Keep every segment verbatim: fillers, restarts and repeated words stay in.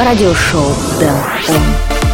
радиошоу Дэн Он.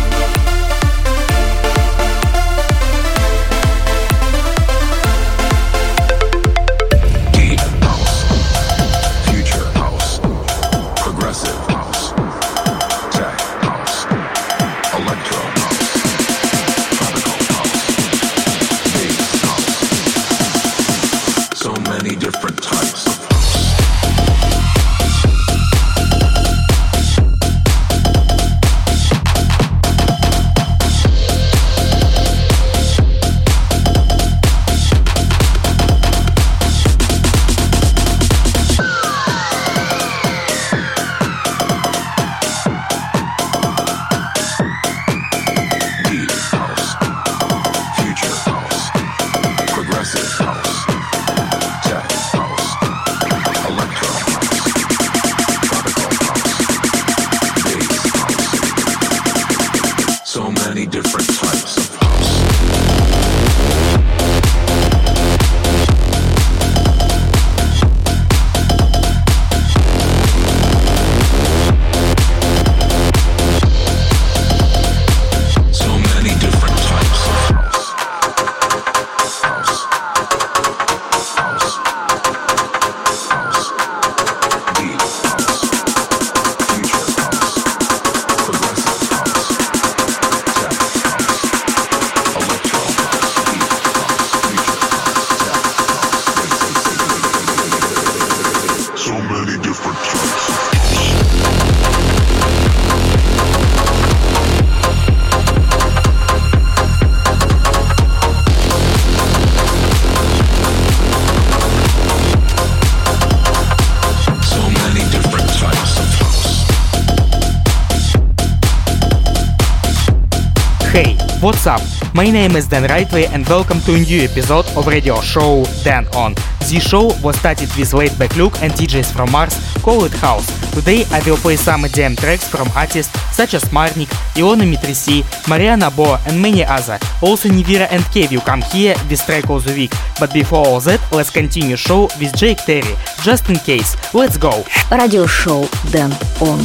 What's up? My name is Dan Rightway and welcome to a new episode of radio show Dan On. This show was started with laid-back look and D Js from Mars call it house. Today I will play some E D M tracks from artists such as Marnik, Ilona Mitrisi, Mariana Bo and many other. Also Nivira and K will come here with track of the week. But before all that, let's continue show with Jake Terry. Just in case, let's go! Radio show Dan On.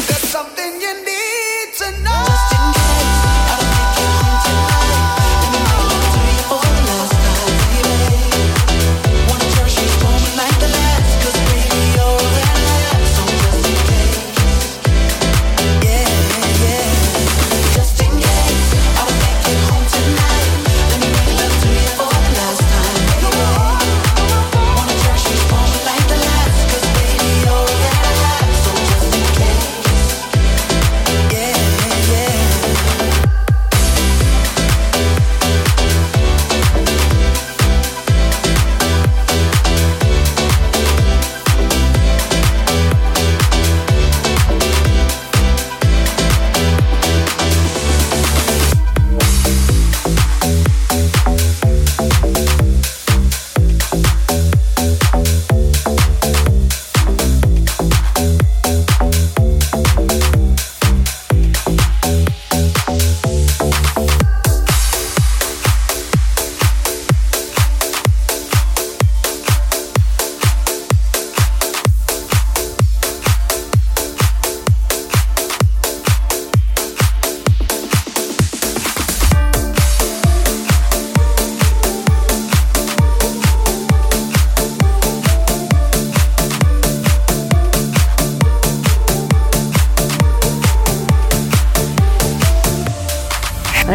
Something you need to know. Just in case I don't make it home tonight.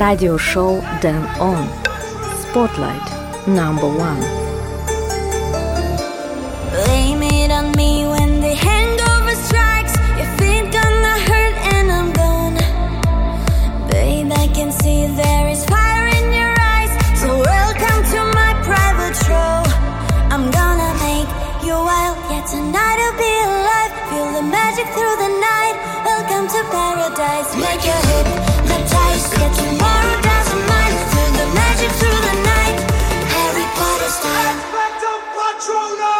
радиошоу Дэн Он. Spotlight number one. Blame it on me when the hangover strikes. If it's gonna hurt and I'm gone, babe, I can see there is fire in your eyes. So welcome to my private show. I'm gonna make you wild, yet tonight I'll be alive. Feel the magic through the night. Welcome to paradise. Make your hypnotize, yet tomorrow doesn't mind. Feel the magic through the night. Harry Potter style. Expecto Patronum.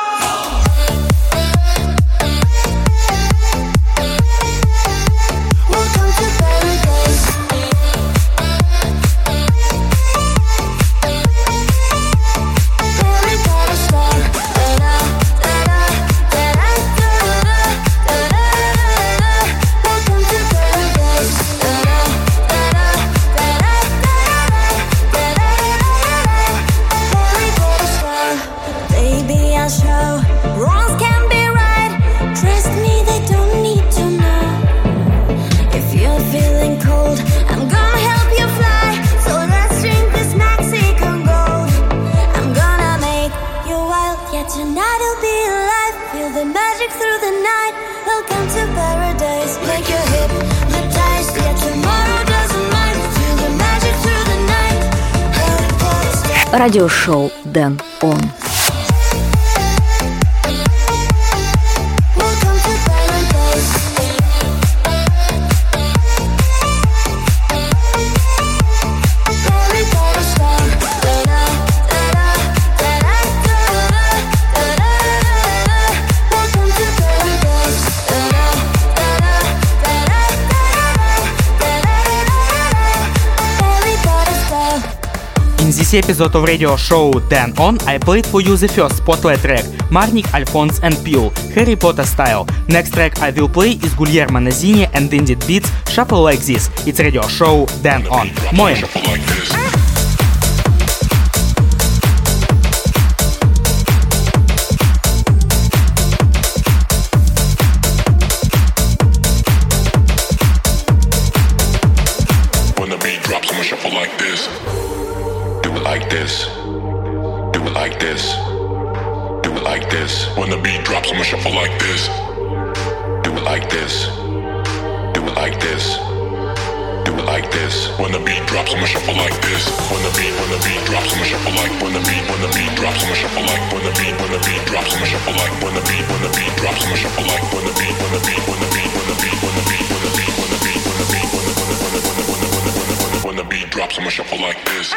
Радиошоу Дэн Он. In this episode of radio show Dan On, I played for you the first Spotlight track, Marnik, Alphonse and Peel, Harry Potter style. Next track I will play is Guglielmo Nazini and Indie Beats, Shuffle Like This. It's radio show Dan On. Moin! Like this, do it like this, do it like this. When the beat drops, I'ma shuffle like this. Do it like this, do it like this, do it like this. When the beat drops, I'ma shuffle like this. When the beat, when the beat drops, I'ma shuffle like. When the beat, when the beat drops, I'ma shuffle like. When the beat, when the beat drops, I'ma shuffle like. When the beat, when the beat drops, I'ma shuffle like. When the beat, when the beat, when the beat, when the beat, when the beat, when the beat, when the beat, when the beat, when the beat, when the beat, when the beat, when the beat drops, I'ma shuffle like this.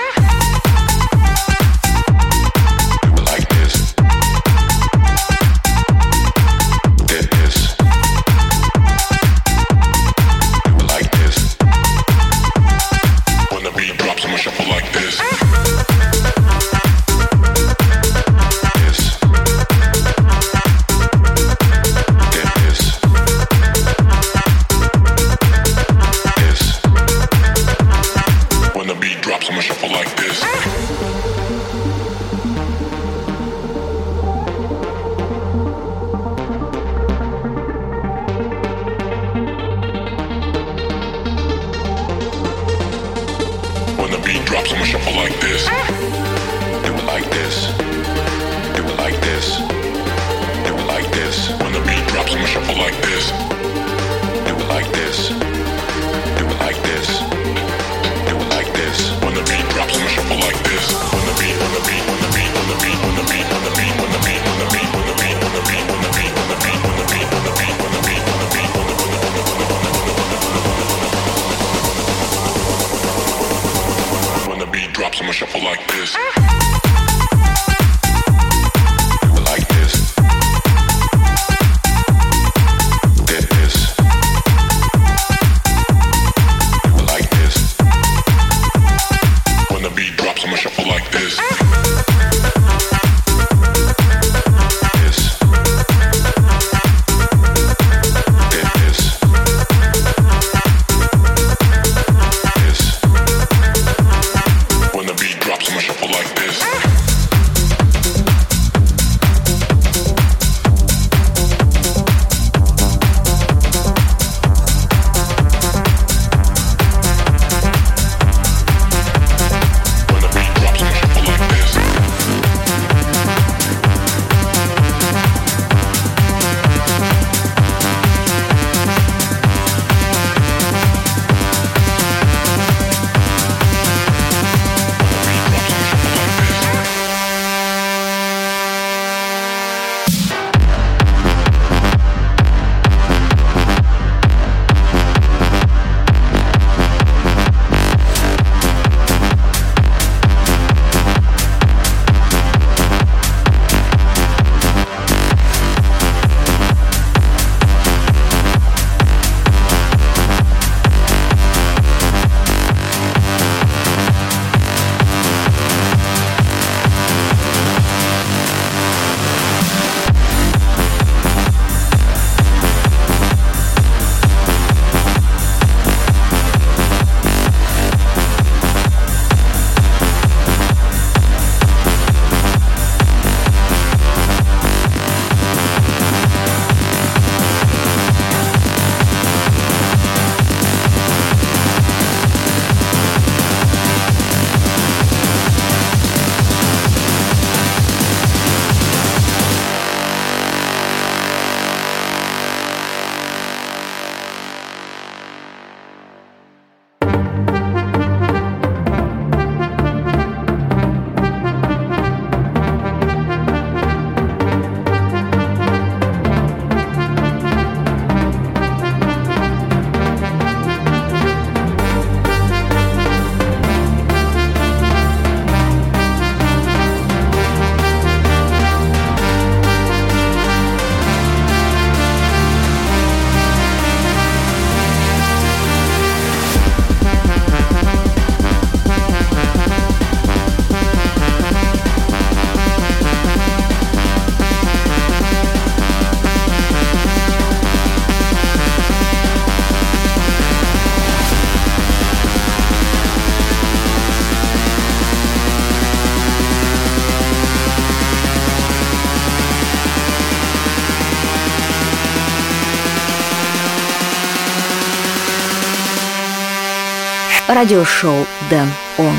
радиошоу Дэн Он.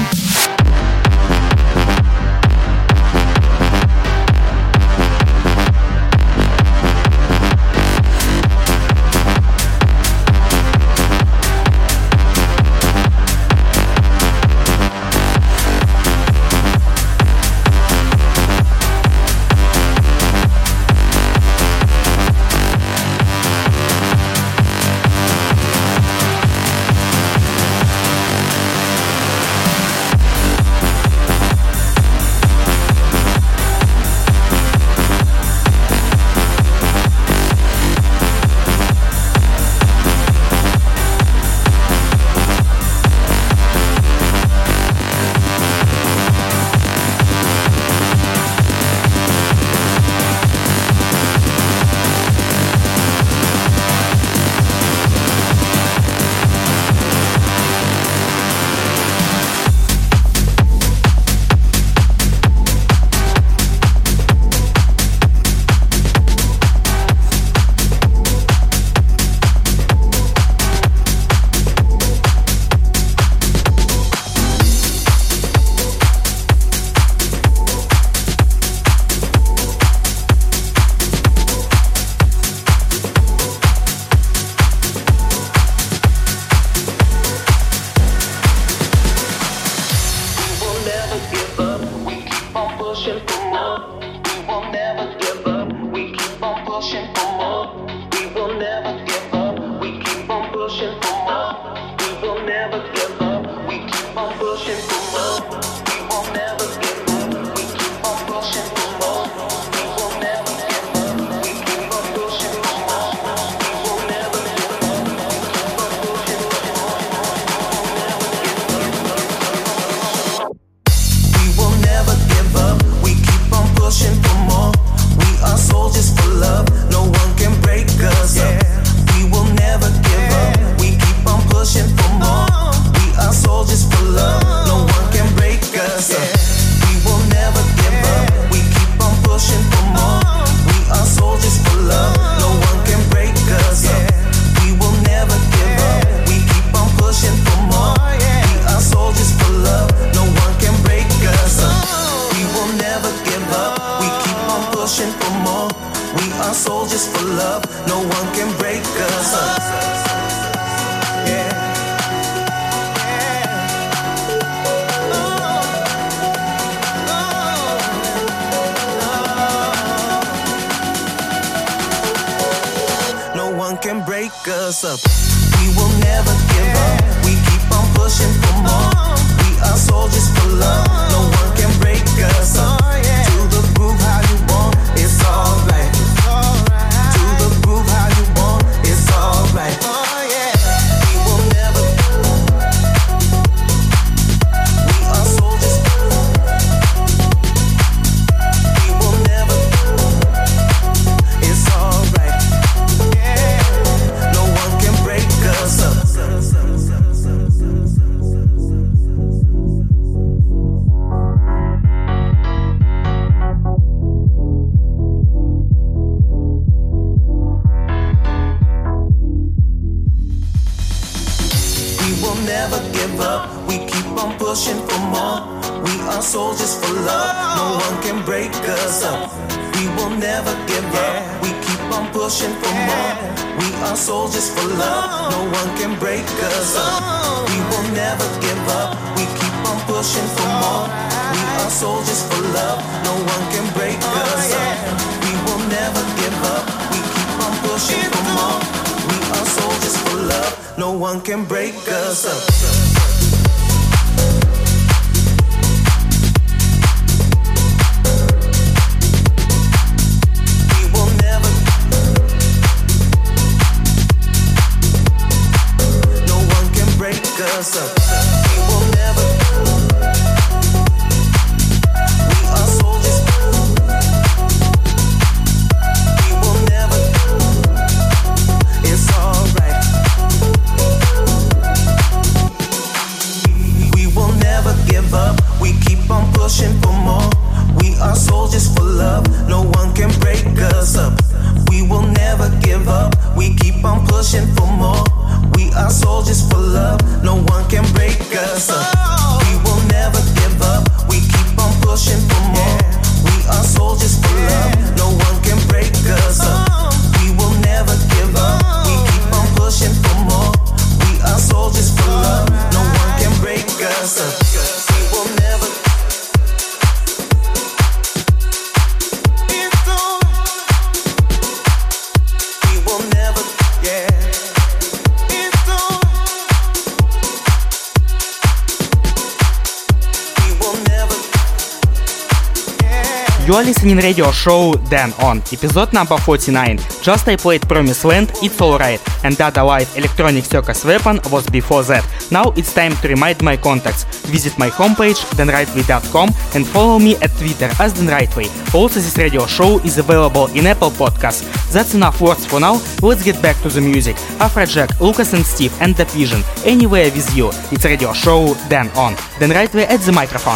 You are listening radio show Dan On, episode number forty-nine. Just I played Promised Land, It's Alright, and Dada Live Electronic Circus Weapon was before that. Now it's time to remind my contacts. Visit my homepage dan rightway dot com and follow me at Twitter as Dan Rightway. Also, this radio show is available in Apple Podcasts. That's enough words for now. Let's get back to the music. Afrojack, Lucas and Steve, and The Vision. Anywhere with you. It's radio show Dan On. Dan Rightway at the microphone.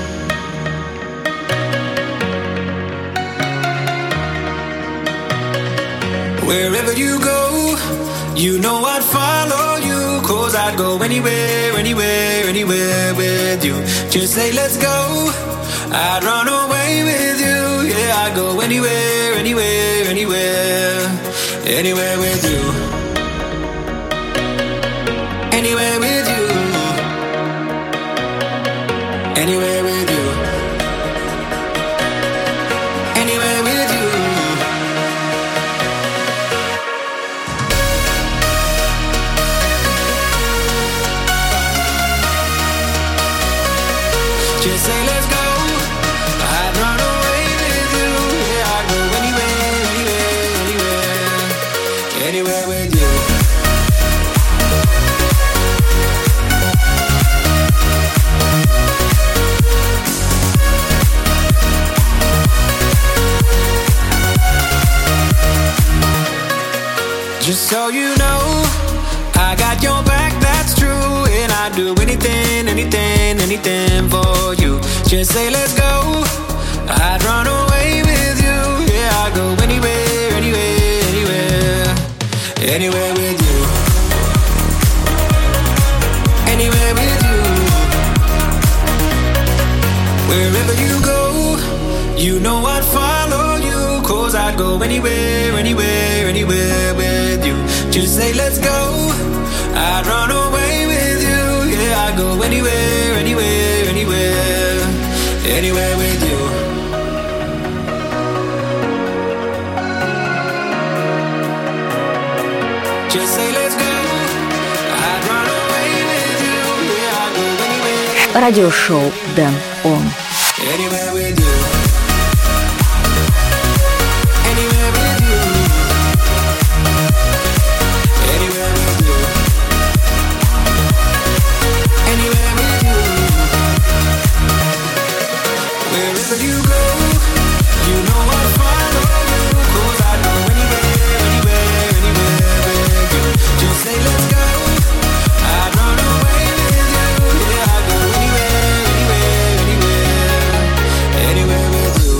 Wherever you go, you know I'd follow you. Cause I'd go anywhere, anywhere, anywhere with you. Just say let's go, I'd run away with you. Yeah, I'd go anywhere, anywhere, anywhere, anywhere with you. Anywhere with you. Anywhere with you. Anywhere with you. Just say let's go, I'd run away with you. Yeah, I'd go anywhere, anywhere, anywhere, anywhere with you. Just so you know, I got your back, that's true. And I'd do anything, anything, anything for you. Just say let's go, I'd run away with you. Yeah, I'd go anywhere, anywhere, anywhere, anywhere with you. Anywhere with you. Wherever you go, you know I'd follow you. Cause I'd go anywhere, anywhere, anywhere with you. Just say let's go, I'd run away with you. Yeah, I'd go anywhere, anywhere, anywhere, anywhere with you. Just say let's go, I'd run away with you. Yeah, I'd go anywhere. Радиошоу Dan On. Anywhere with you. Anywhere with you. Anywhere with you. Anywhere with you. Wherever you go, you know I'll follow you. Cause I go anywhere, anywhere, anywhere with you. Just say let's go, I'd run away with you. Yeah, I'd go anywhere, anywhere, anywhere, anywhere with you.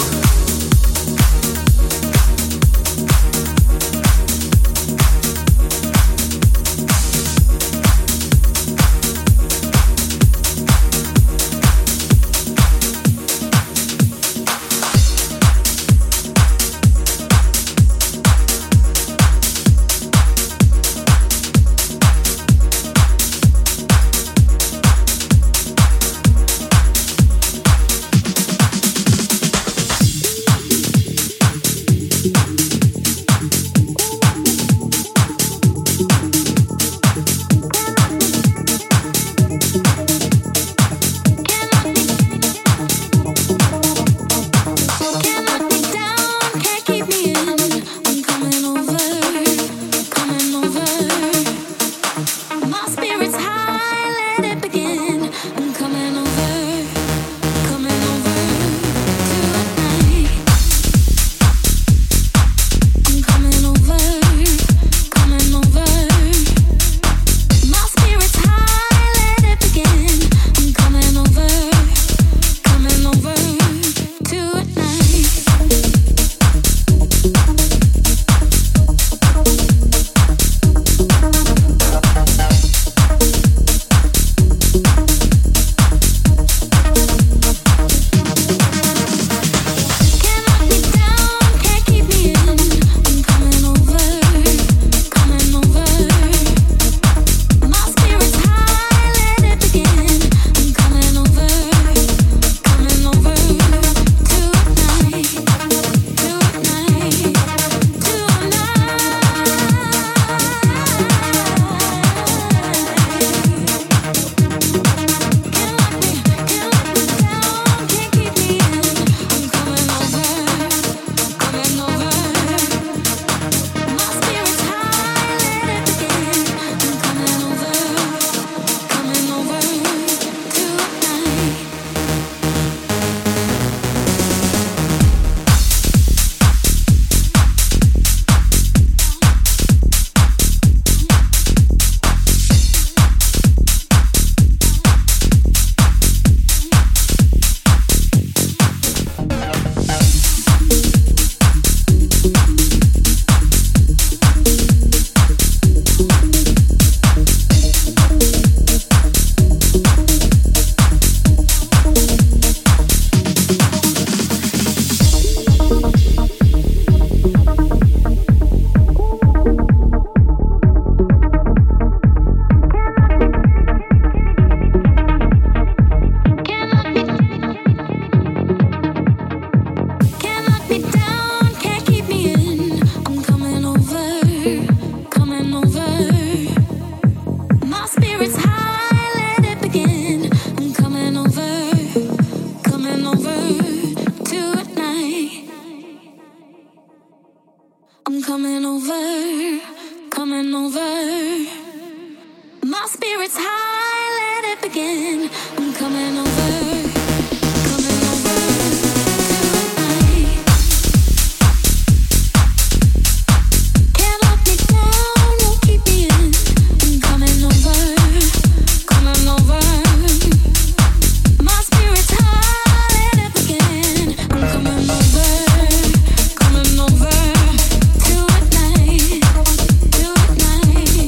over tonight. I'm coming over, coming over. My spirit's high, let it begin. I'm coming over, coming over tonight. Can't lock me down, won't keep me in. I'm coming over, coming over. My spirit's high, let it begin. I'm coming over, coming over tonight, tonight,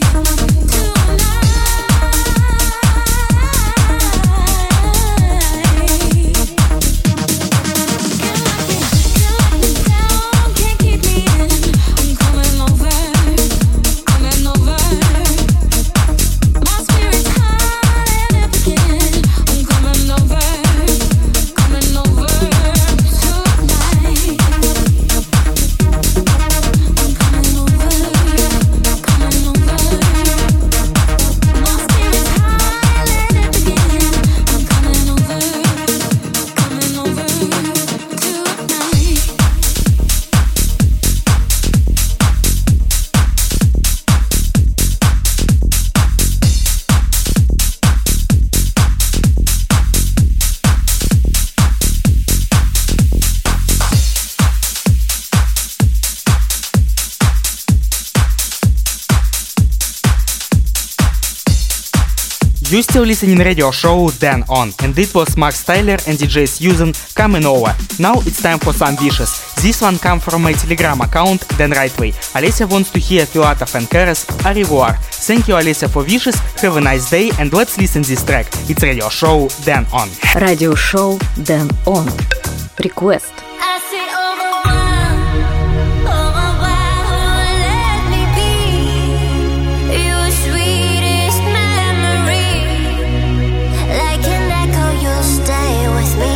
You still listening radio show Dan On, and it was Max Tyler and D J Susan coming over. Now it's time for some wishes. This one come from my Telegram account Dan Rightway. Alessia wants to hear Filatov and Keres Au revoir. Thank you, Alessia, for wishes. Have a nice day, and let's listen this track. It's radio show Dan On. Radio show Dan On. Request. I said au revoir, au revoir, let me be your sweetest memory. Like an echo, you'll stay with me.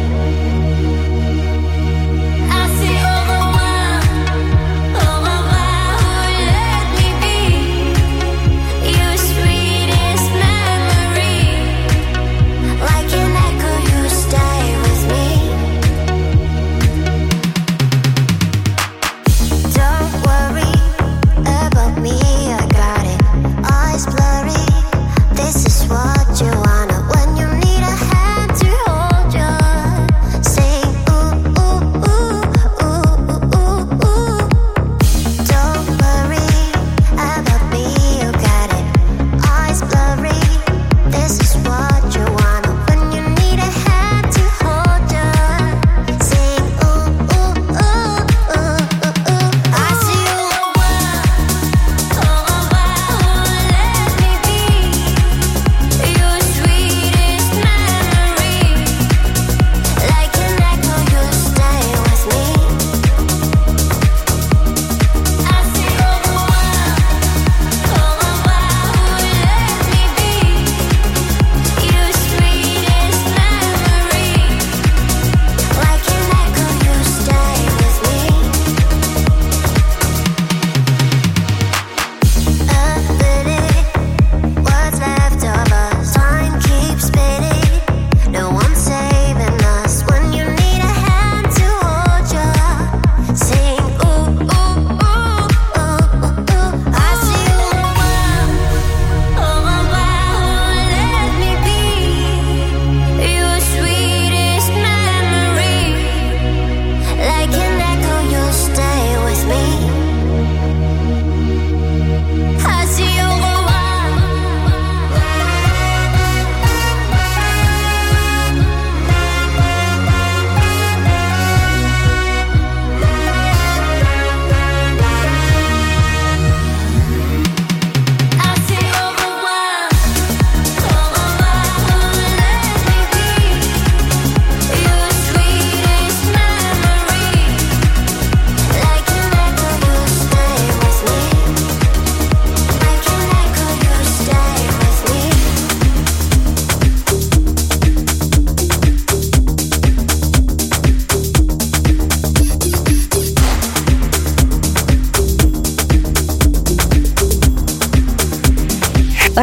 I said au revoir, au revoir, let me be your sweetest memory. Like an echo, you'll stay with me.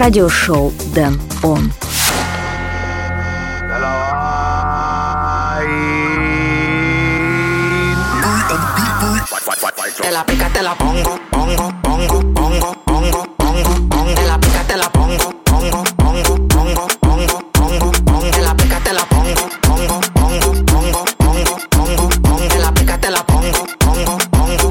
Радиошоу Dan On. Hello, Te la pica, te la pongo, pongo, pongo, pongo, pongo, pongo, pongo. Te la pica, te la pongo, pongo, pongo, pongo, pongo, pongo, pongo. Te la pica, te la pongo, pongo, pongo, pongo, pongo, pongo, pongo. Te la pica, te la pongo, pongo, pongo.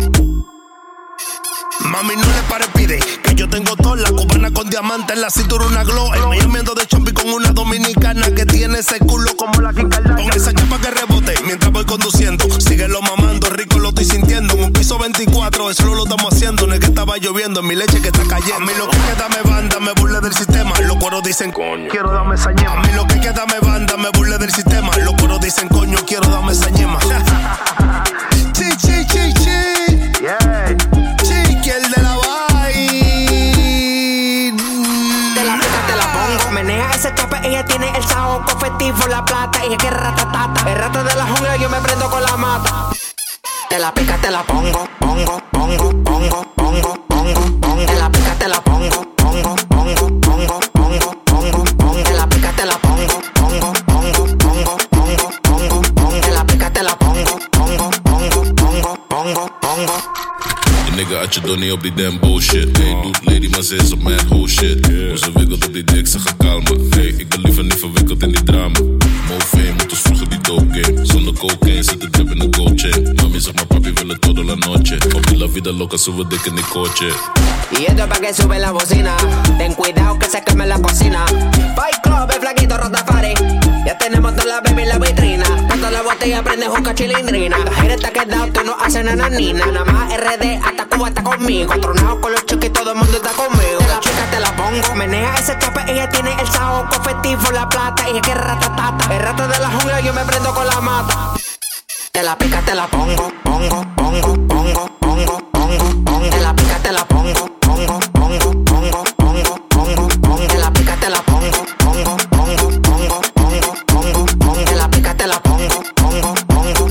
Mami, no le pare, pide que yo tengo toda la cubana con diamante en la cintura, una glow. En Miami ando de chompi con una dominicana que tiene ese culo como la Kim Kardashian. Con esa chapa que rebote mientras voy conduciendo. Síguelo mamando, rico lo estoy sintiendo. En un piso veinticuatro, eso lo estamos haciendo. No es que estaba lloviendo, en mi leche que está cayendo. A mí lo que queda me banda, me burle del sistema. Los cueros dicen coño, quiero darme esa ñema. A mí lo que queda me banda, me burle del sistema. Los cueros dicen coño, quiero darme esa ñema. Chi, chi, chi, chi. Yeah. Chiqui, el de la menea ese chape, ella tiene el saoco festivo, la plata, ella que ratatata. El rato de la jungla yo me prendo con la mata. Te la pica, te la pongo, pongo, pongo, pongo, pongo, pongo, pongo. Te la pica, te la pongo, pongo, pongo, pongo, pongo, pongo, pongo. Te la pica, te la pongo, pongo, pongo, pongo, pongo, pongo, pongo. Te la pica, te la pongo, pongo, pongo, pongo, pongo, pongo. Nigga uit je donnie op die damn bullshit. Hey, doet lady, maar ze is op mijn whole shit. Hoe ze wikkelt op die dik, ze gaat kalmen. Hey, ik ben liever niet verwikkeld in die drama. Mofé, moet ons vroeger die dope game. Zonder cocaine zit de drip in een gold chain. Mami zeg maar papi wil het todo la noche. Op die la vida loca sube dik in die coche. Y esto pa' que sube la bocina. Ten cuidado que se queme la cocina. Fight Club, el flaquito Rotafari. Ya tenemos toda la baby en la vitrina. Cuando la botella prende juca chilindrina. La gira está quedado, tú no haces nananina. Nada más R D hasta Cuba está conmigo. Tronado con los chiques y todo el mundo está conmigo. La chica te la pongo. Menea ese chape, ella tiene el saoco festivo, la plata, ella que ratatata. El rato de la jungla yo me prendo con la mata. Te la pica, te la pongo, pongo, pongo, pongo, pongo, pongo, pongo. Te la pica, te la pongo, pongo, pongo, pongo, pongo, pongo, pongo. Te la pica, te la pongo, pongo, pongo, pongo, pongo, pongo, pongo. Te la pica, te la pongo, pongo, pongo.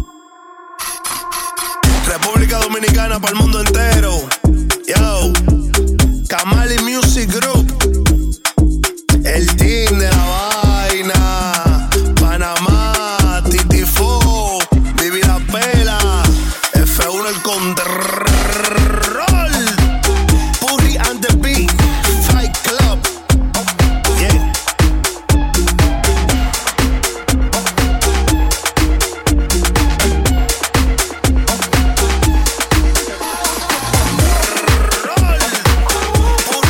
República Dominicana para el mundo entero. Yo, Kamali Music Group, el team de la vaina. Panamá, Titifo, Vivi la Pela, F uno el control. Puri and the Beat, Fight Club. Yeah. Puri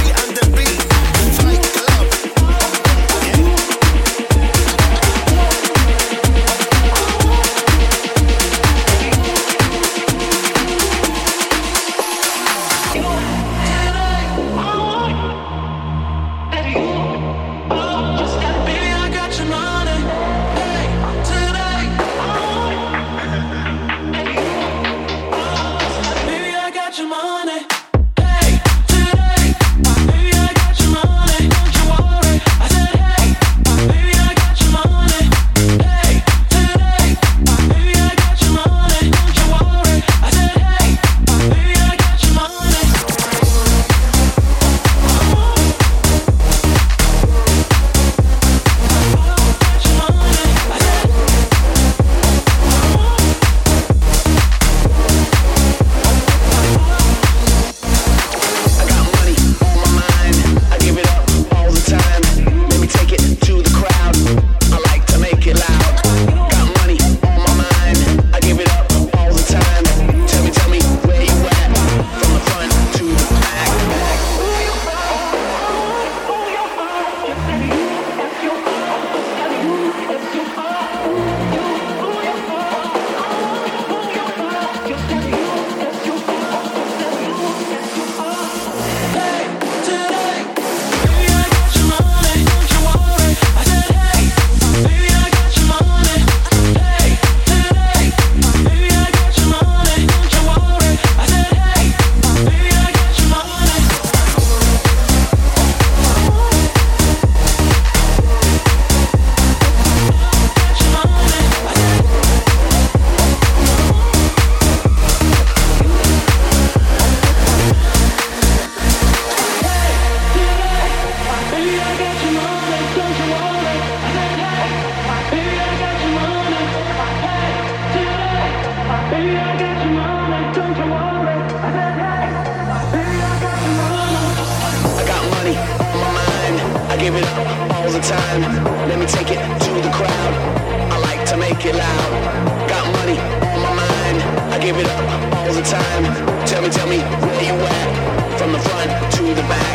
give it up all the time. Let me take it to the crowd. I like to make it loud. Got money on my mind. I give it up all the time. Tell me, tell me where you at? From the front to the back.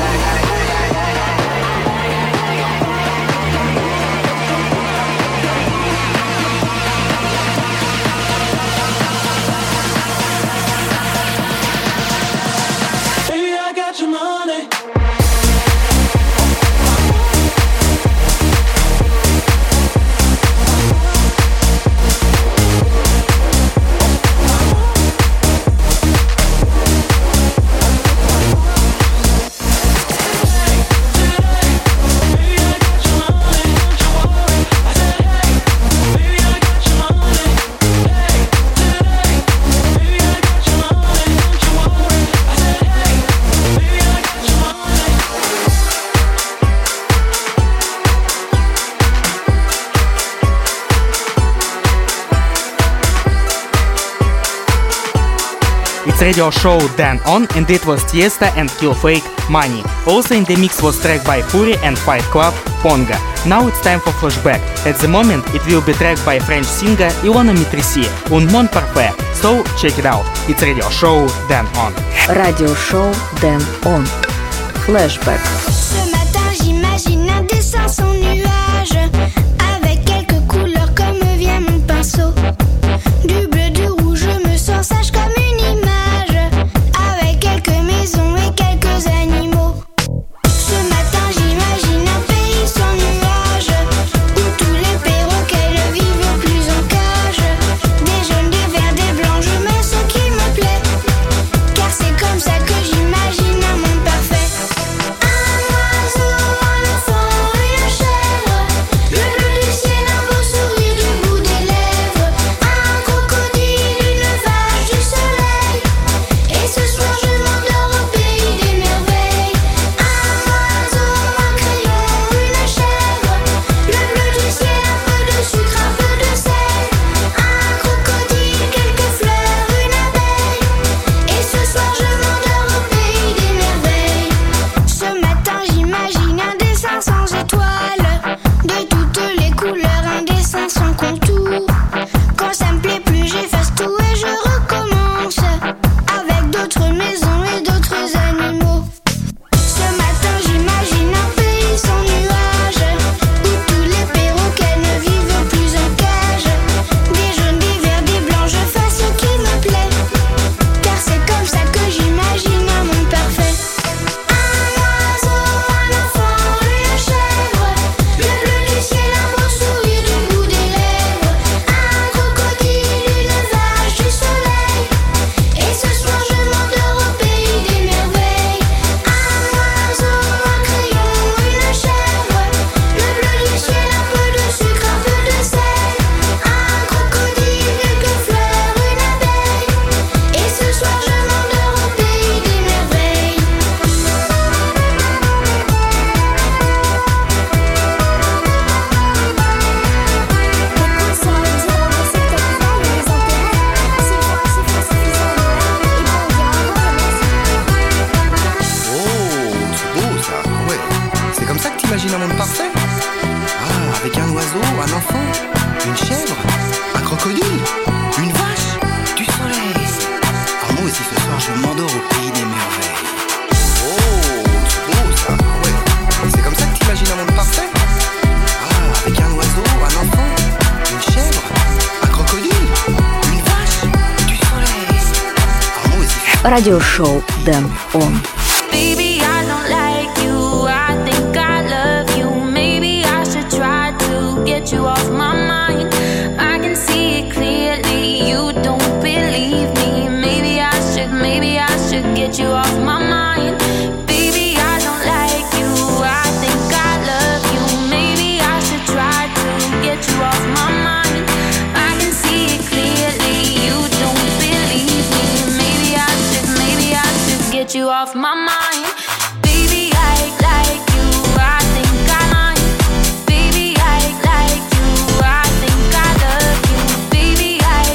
Radio show Dan On, and it was Tiesta and Killfake Money. Also in the mix was track by Puri and Fight Club Ponga. Now it's time for flashback. At the moment it will be tracked by French singer Ilona Mitrisi, Un Mon Parfait. So check it out. It's radio show Dan On. Radio show Dan On. Flashback. Ce matin j'imagine un dessin sans nuage, avec quelques couleurs comme vient mon pinceau. Du bleu, du rouge, je me sens sage comme une image, avec quelques maisons et quelques animaux. Ce matin j'imagine un pays sans nuages, où tous les perroquets ne vivent plus en cage. Des jaunes, des verts, des blancs, je mets ce qui me plaît, car c'est comme ça que j'imagine un monde parfait. Un oiseau, un enfant, une chèvre, le bleu du ciel, un beau sourire du bout des lèvres, un crocodile, une vache, du soleil, et ce soir je m'endors au pays des merveilles. Un oiseau, un crayon, une chèvre, le bleu du ciel, un peu de sucre, un peu de sel, un crocodile, quelques fleurs, une abeille, et ce soir je m'endors au pays des merveilles. Ce matin j'imagine un dessin sans étoiles, de toutes les couleurs, un dessin sans contour. Quand ça me plaît plus j'efface tout et je recommence, avec d'autres maisons et d'autres animaux. Ce matin j'imagine un pays sans nuages, où tous les perroquets ne vivent plus en cage. Des jaunes, des verts, des blancs, je fais ce qui me plaît, car c'est comme ça que j'imagine un monde parfait. Un oiseau, un enfant, une chèvre, le bleu du ciel, un beau sourire du bout des lèvres, un crocodile, une vache, du soleil, et ce soir je m'endors au pays des merveilles. Un oiseau, un crayon, une chèvre, le bleu du ciel, un peu de sucre, un peu de sel, un crocodile, quelques fleurs, une abeille, et ce soir je m'endors au pays des merveilles. Oh, c'est beau ça, ouais. C'est comme ça que t'imagines un monde parfait? Ah, avec un oiseau, un enfant, une chèvre, un crocodile, une vache, du soleil. Ah, moi aussi ce soir je m'endors au pays des merveilles. Oh, c'est beau ça, ouais. C'est comme ça que t'imagines un monde parfait? Ah, avec un oiseau, un enfant, une chèvre, un crocodile, une vache, du soleil. Ah, moi aussi. Radio show Dan On. Baby, I don't like you. I think I love you. Maybe I should try to get you off my mind. I can see it clearly. You don't believe me. Maybe I should, maybe I should get you off my mind. Baby, I don't like you. I think I love you. Maybe I should try to get you off my mind. I can see it clearly. You don't believe me. Maybe I should, maybe I should get you off my mind. Baby, I like you. I think I like. Baby, I like you. I think I love you. Baby, I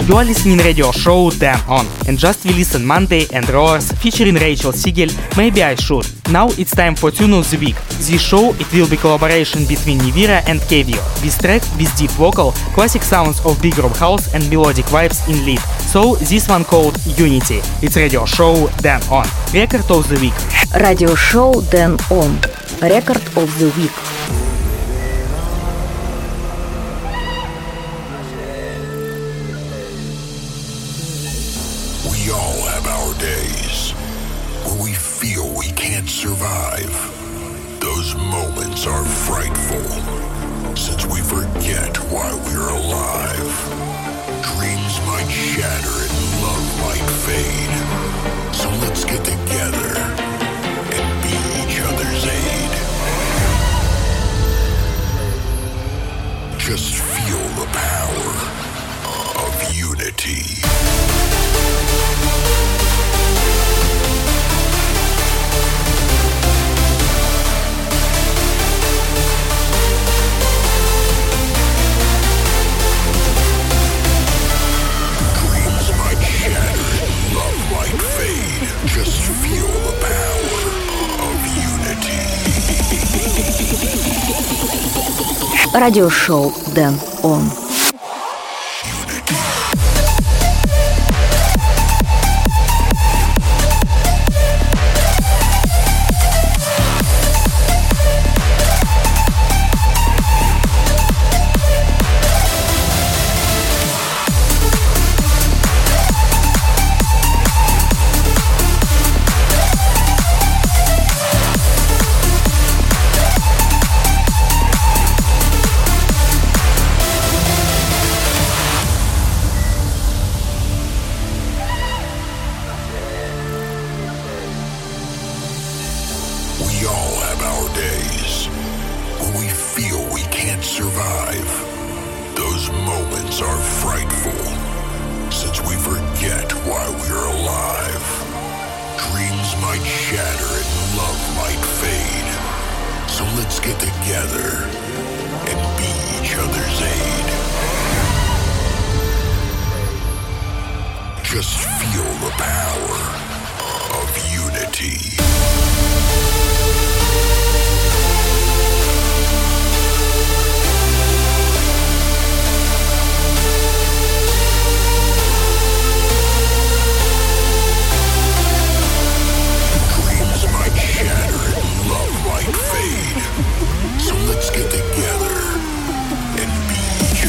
You are listening radio show Dan On, and just we listen Monday and Roars featuring Rachel Siegel, Maybe I Should. Now it's time for Tune of the Week. This show it will be collaboration between Nivira and Kevio. This track with deep vocal, classic sounds of big room house and melodic vibes in lead. So this one called Unity. It's radio show Dan On. Record of the Week. Радиошоу Dan On. Record of the Week. We all have our days where we feel we can't survive. Those moments are frightful, since we forget why we're alive. Dreams might shatter and love might fade. So let's get together and be each other's aid. Just feel the power of unity. Just feel the power of unity. Радиошоу Dan On. We all have our days where we feel we can't survive. Those moments are frightful, since we forget why we're alive. Dreams might shatter and love might fade. So let's get together and be each other's aid. Just feel the power of unity. Let's get together and be each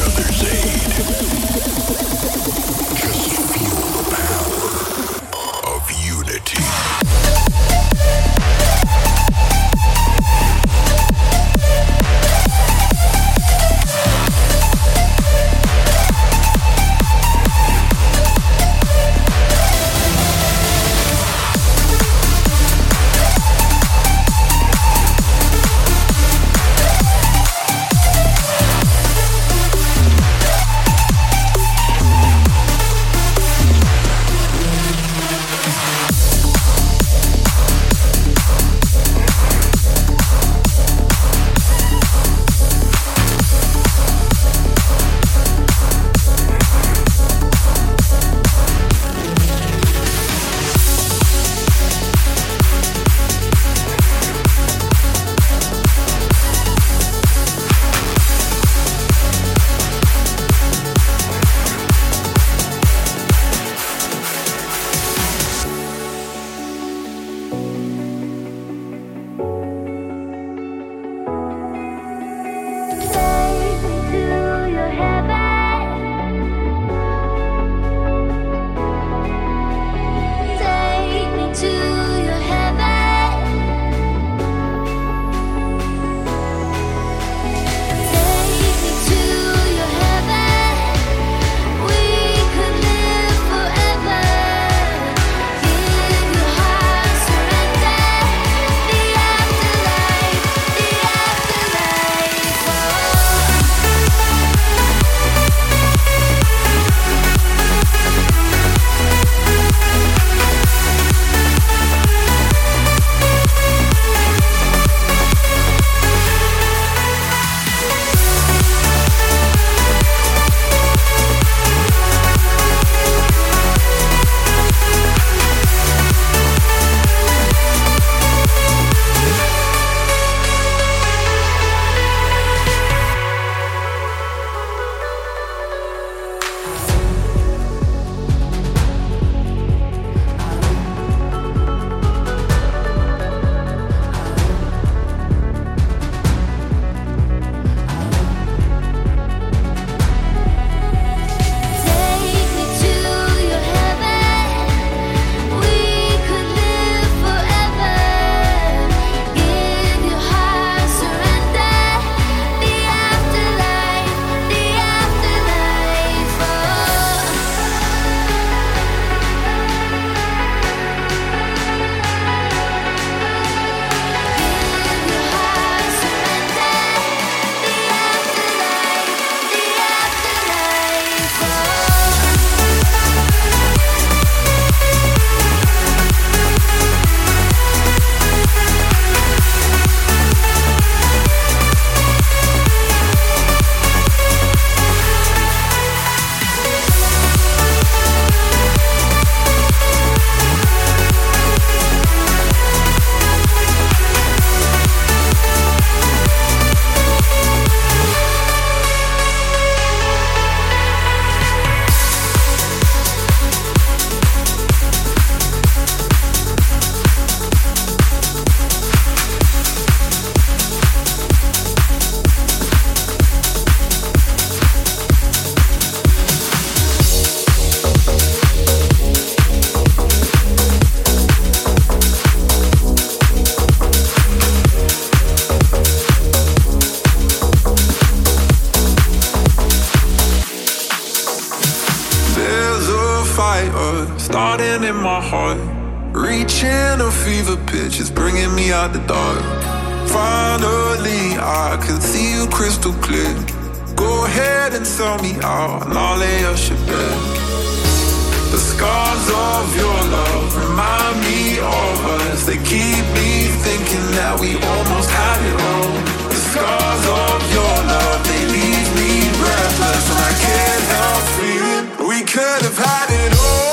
starting in my heart. Reaching a fever pitch, it's bringing me out the dark. Finally, I can see you crystal clear. Go ahead and sell me out, and I'll lay us your bed. The scars of your love remind me of us. They keep me thinking that we almost had it all. The scars of your love, they leave me breathless, and I can't help feeling we could have had it all.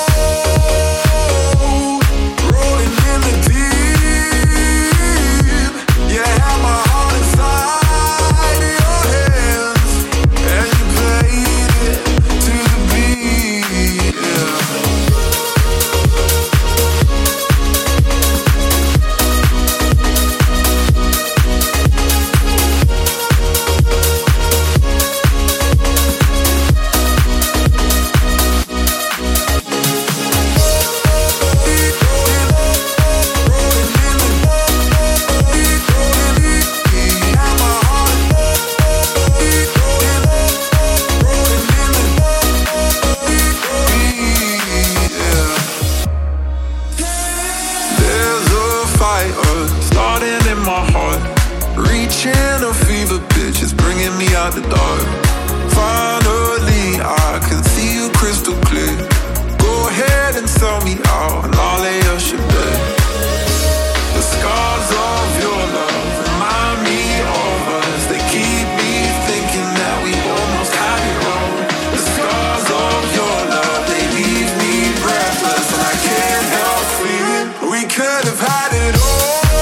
Rolling in the deep, you had my heart inside your hands, and you played it to the beat. Yeah. Reaching a fever pitch, it's bringing me out the dark. Finally, I can see you crystal clear. Go ahead and sell me out, and I'll lay us your bed. The scars of your love remind me of us. They keep me thinking that we almost had it all. The scars of your love, they leave me breathless, and I can't help feeling we could have had it all.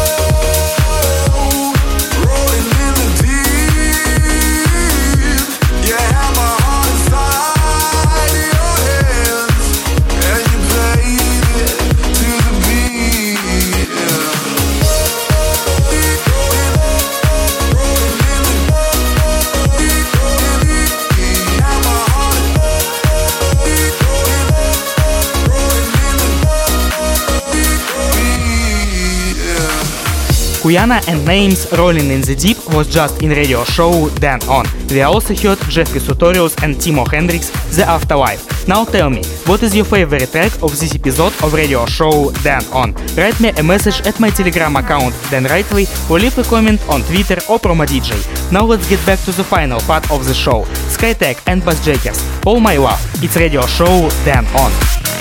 Kuyana and Names Rolling in the Deep was just in radio show Dan On. We also heard Jeffrey Sutorius and Timo Hendrix, The Afterlife. Now tell me, what is your favorite track of this episode of radio show Dan On? Write me a message at my Telegram account Dan Rightway or leave a comment on Twitter or Promo D J. Now let's get back to the final part of the show. Skytech and Bassjackers, All My Love. It's radio show Dan On.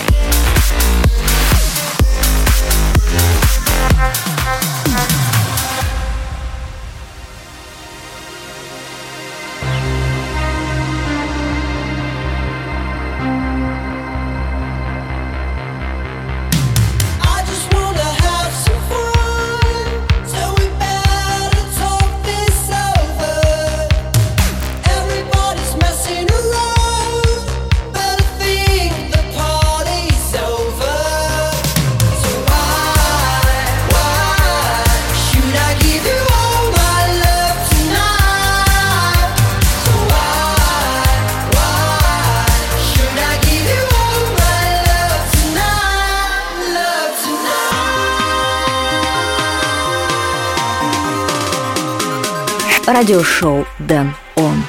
Радиошоу Dan On.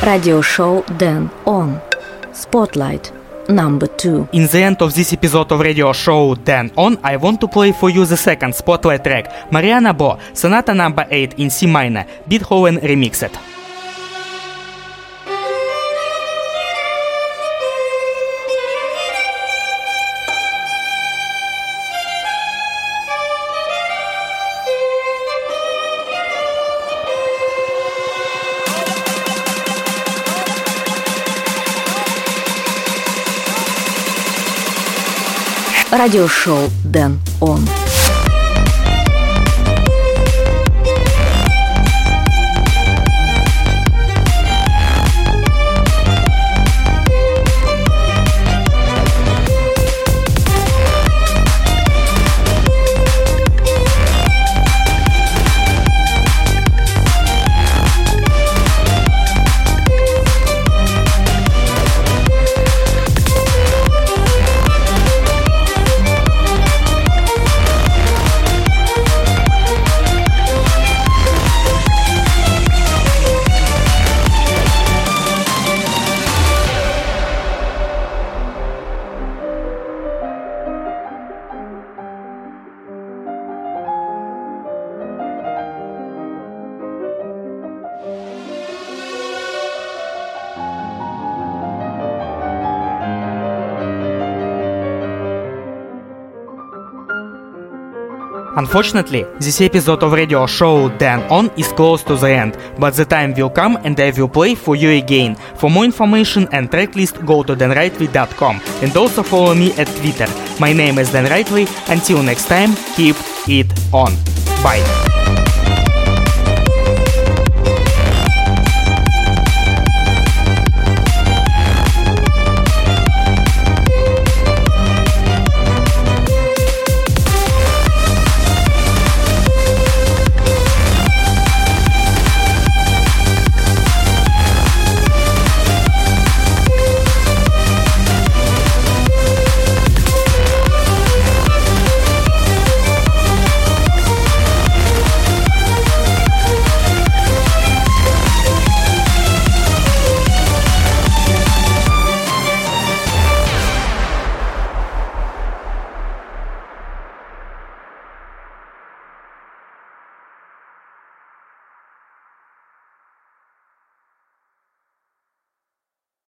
Radio show Dan On. Spotlight number two. In the end of this episode of radio show Dan On, I want to play for you the second Spotlight track, Mariana Bo, Sonata number eight in C minor, Beethoven remixed. Radio show Dan On. Unfortunately, this episode of radio show Dan On is close to the end, but the time will come and I will play for you again. For more information and tracklist, go to dan rightway dot com and also follow me at Twitter. My name is Dan Rightway. Until next time, keep it on. Bye.